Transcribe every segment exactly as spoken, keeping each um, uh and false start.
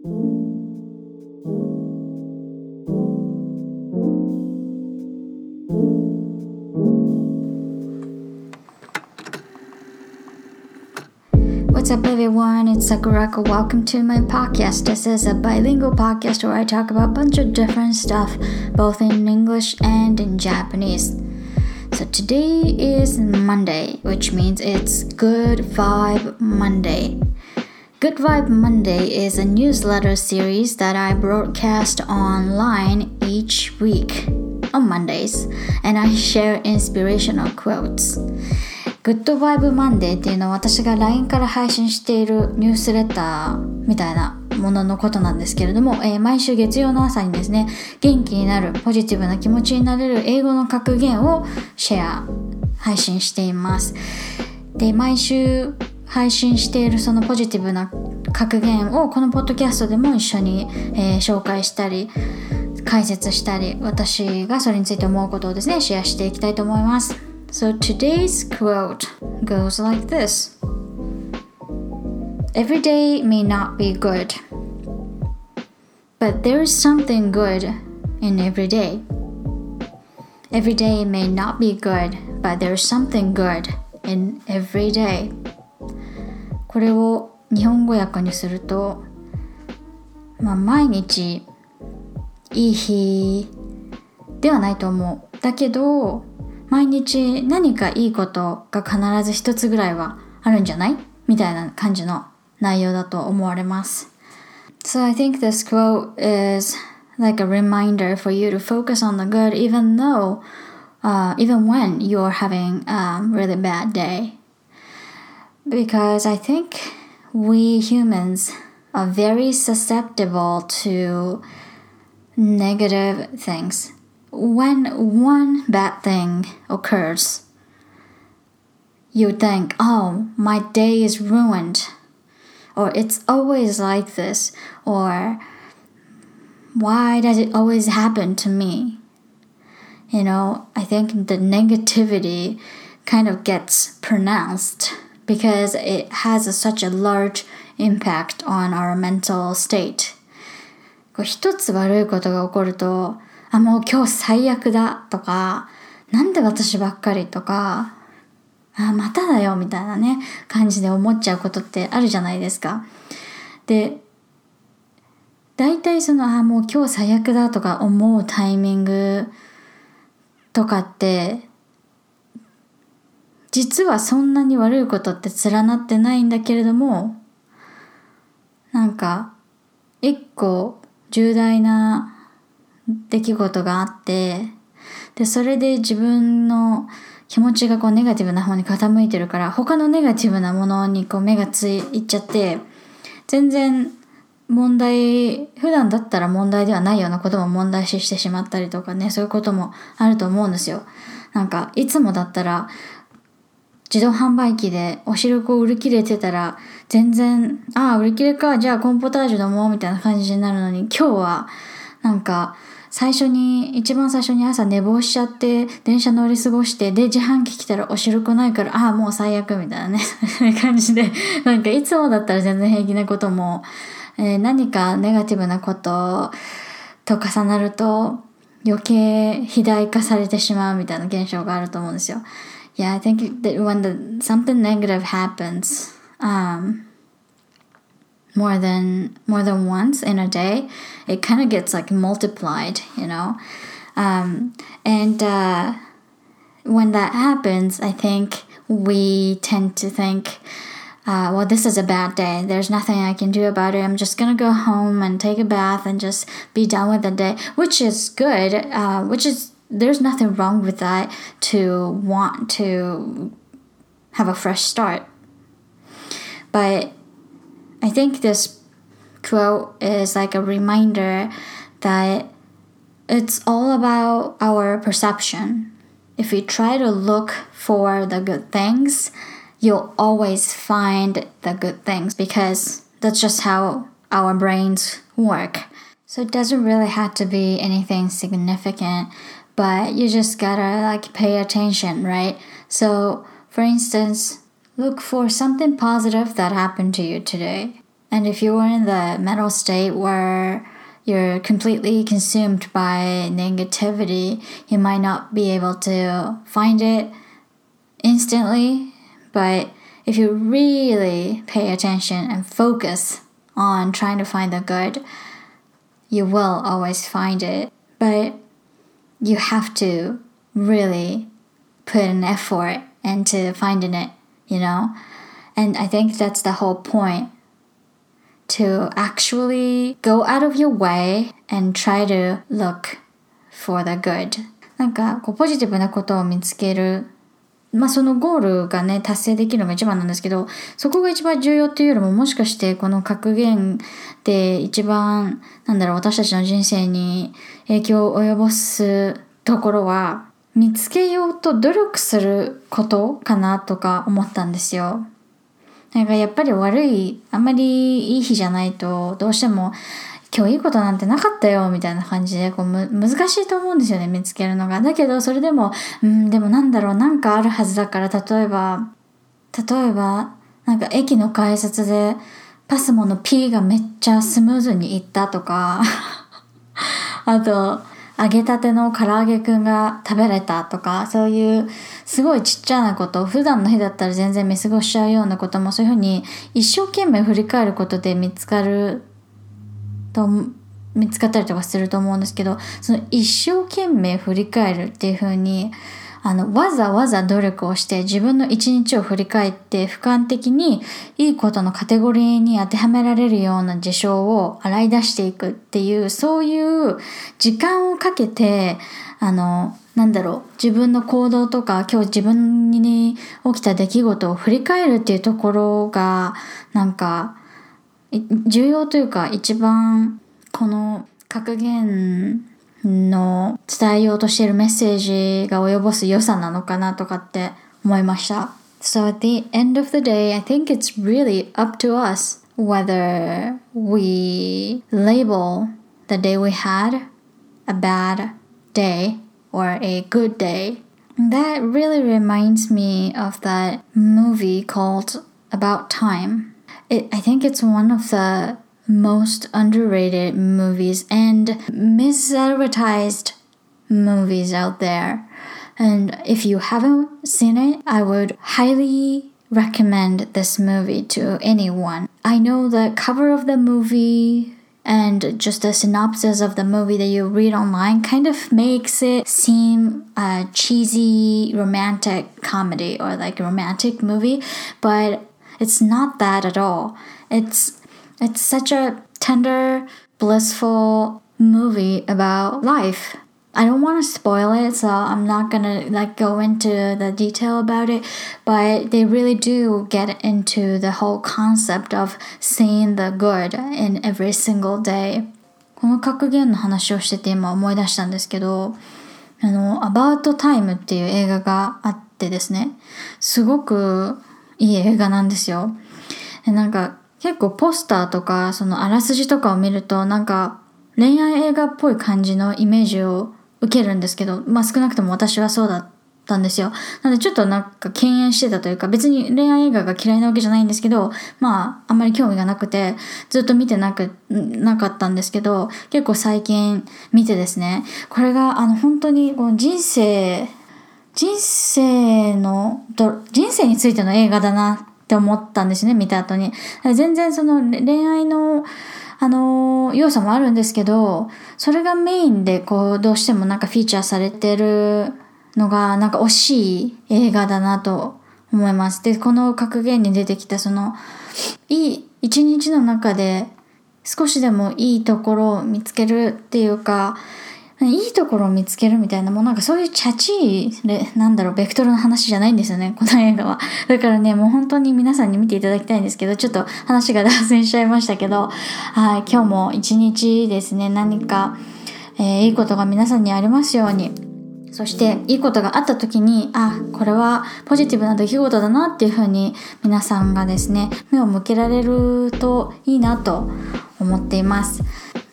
What's up, everyone? It's Sakurako. Welcome to my podcast. This is a bilingual podcast where I talk about a bunch of different stuff, both in English and in Japanese. So today is Monday, which means it's Good Vibe Monday. Good Vibe Monday is a newsletter series that I broadcast online each week on Mondays, and I share inspirational quotes.Good Vibe Monday っていうのは私が ライン から配信しているニュースレターみたいなもののことなんですけれども、えー、毎週月曜の朝にですね、元気になるポジティブな気持ちになれる英語の格言をシェア配信しています。で、毎週配信しているそのポジティブな格言をこのポッドキャストでも一緒に、えー、紹介したり解説したり、私がそれについて思うことをですね、シェアしていきたいと思います。So today's quote goes like this. Every day may not be good, but there is something good in every day. Every day may not be good, but there is something good in every day. これを日本語訳にすると、まあ、毎日いい日ではないと思う。だけど毎日何かいいことが必ず一つぐらいはあるんじゃないみたいな感じの内容だと思われます。So I think this quote is like a reminder for you to focus on the good even though, uh, even when you're having a really bad day. Because I think we humans are very susceptible to negative things.When one bad thing occurs, you think, oh, my day is ruined, or it's always like this, or why does it always happen to me? You know, I think the negativity kind of gets pronounced because it has a, such a large impact on our mental state. こう一つ悪いことが起こるとあ、もう今日最悪だとか、なんで私ばっかりとか、あ、まただよみたいなね、感じで思っちゃうことってあるじゃないですか。で、大体その、あ、もう今日最悪だとか思うタイミングとかって、実はそんなに悪いことって連なってないんだけれども、なんか、一個重大な出来事があって、でそれで自分の気持ちがこうネガティブな方に傾いてるから、他のネガティブなものにこう目がついっちゃって、全然問題、普段だったら問題ではないようなことも問題視してしまったりとかね、そういうこともあると思うんですよ。なんかいつもだったら自動販売機でお汁粉を売り切れてたら全然、ああ売り切れか、じゃあコーンポタージュ飲もうみたいな感じになるのに、今日はなんか最初に一番最初に朝寝坊しちゃって電車乗り過ごして、で自販機来たらお汁粉ないから、ああもう最悪みたいなね感じで、なんかいつもだったら全然平気なことも、えー、何かネガティブなことと重なると余計肥大化されてしまうみたいな現象があると思うんですよ。Yeah, I think that when the, something negative happens, um, more than more than once in a day, it kind of gets like multiplied, you know. Um, and uh, when that happens, I think we tend to think, uh, well, this is a bad day. There's nothing I can do about it. I'm just gonna go home and take a bath and just be done with the day, which is good. Uh, which is there's nothing wrong with that, to want to have a fresh start. But I think this quote is like a reminder that it's all about our perception. If we try to look for the good things, you'll always find the good things, because that's just how our brains work. So it doesn't really have to be anything significant, but you just gotta like pay attention, right? So for instance, look for something positive that happened to you today. And if you're in the mental state where you're completely consumed by negativity, you might not be able to find it instantly. But if you really pay attention and focus on trying to find the good, you will always find it. But you have to really put an effort into finding it, you know? And I think that's the whole point, to actually go out of your way and try to look for the good. なんかこうポジティブなことを見つける、まあそのゴールがね達成できるのが一番なんですけど、そこが一番重要っていうよりも、もしかしてこの格言で一番なんだろう、私たちの人生に影響を及ぼすところは、見つけようと努力することかなとか思ったんですよ。なんかやっぱり悪い、あんまりいい日じゃないと、どうしても今日いいことなんてなかったよみたいな感じでこうむ難しいと思うんですよね、見つけるのが。だけどそれでも、うん、でもなんだろう、なんかあるはずだから、例えば、例えば、なんか駅の改札でパスモの P がめっちゃスムーズにいったとか、あと、揚げたての唐揚げくんが食べれたとか、そういうすごいちっちゃなこと、普段の日だったら全然見過ごしちゃうようなことも、そういうふうに一生懸命振り返ることで見つかると、見つかったりとかすると思うんですけど、その一生懸命振り返るっていうふうに、あのわざわざ努力をして自分の一日を振り返って、俯瞰的にいいことのカテゴリーに当てはめられるような事象を洗い出していくっていう、そういう時間をかけて、あのなんだろう、自分の行動とか今日自分に起きた出来事を振り返るっていうところがなんか重要というか、一番この格言の伝えようとしているメッセージが及ぼす良さなのかなとかって思いました。So at the end of the day, I think it's really up to us whether we label the day we had a bad day or a good day. That really reminds me of that movie called About Time. It, I think it's one of the most underrated movies and misadvertised movies out there. And if you haven't seen it, I would highly recommend this movie to anyone. I know the cover of the movie and just the synopsis of the movie that you read online kind of makes it seem a cheesy romantic comedy or like a romantic movie, but it's not that at all. It's It's such a tender, blissful movie about life. I don't want to spoil it, so I'm not gonna like go into the detail about it, but they really do get into the whole concept of seeing the good in every single day. この格言の話をしてて今思い出したんですけど、あの About Time っていう映画があってですね、すごくいい映画なんですよ。でなんか結構ポスターとかそのあらすじとかを見るとなんか恋愛映画っぽい感じのイメージを受けるんですけど、まあ少なくとも私はそうだったんですよ。なのでちょっとなんか敬遠してたというか、別に恋愛映画が嫌いなわけじゃないんですけど、まああんまり興味がなくてずっと見てなくなかったんですけど、結構最近見てですね、これがあの本当にこう人生人生の人生についての映画だなって思ったんですね、見た後に。全然その恋愛のあの要素もあるんですけど、それがメインでこうどうしてもなんかフィーチャーされてるのがなんか惜しい映画だなと思います。で、この格言に出てきたそのいい一日の中で少しでもいいところを見つけるっていうか、いいところを見つけるみたいな、もうなんかそういうチャチいなんだろうベクトルの話じゃないんですよね、この映画は。だからね、もう本当に皆さんに見ていただきたいんですけど、ちょっと話が脱線しちゃいましたけど、はい、今日も一日ですね、何か、えー、いいことが皆さんにありますように。そしていいことがあった時に、あ、これはポジティブな出来事だなっていう風に皆さんがですね目を向けられるといいなと思っています。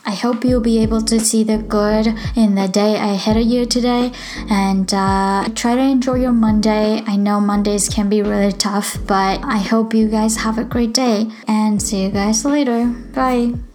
I hope you'll be able to see the good in the day ahead of you today, and uh, try to enjoy your Monday. I know Mondays can be really tough, but I hope you guys have a great day, and see you guys later. Bye.